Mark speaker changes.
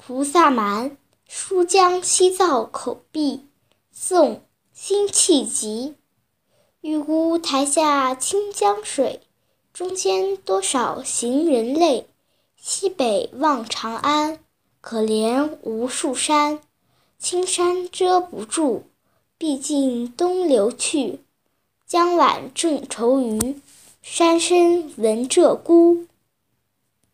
Speaker 1: 菩萨蛮·书江西造口壁。宋·辛弃疾。玉孤台下清江水，中间多少行人泪。西北望长安，可怜无数山。青山遮不住，毕竟东流去。江晚正愁余，山深闻鹧鸪。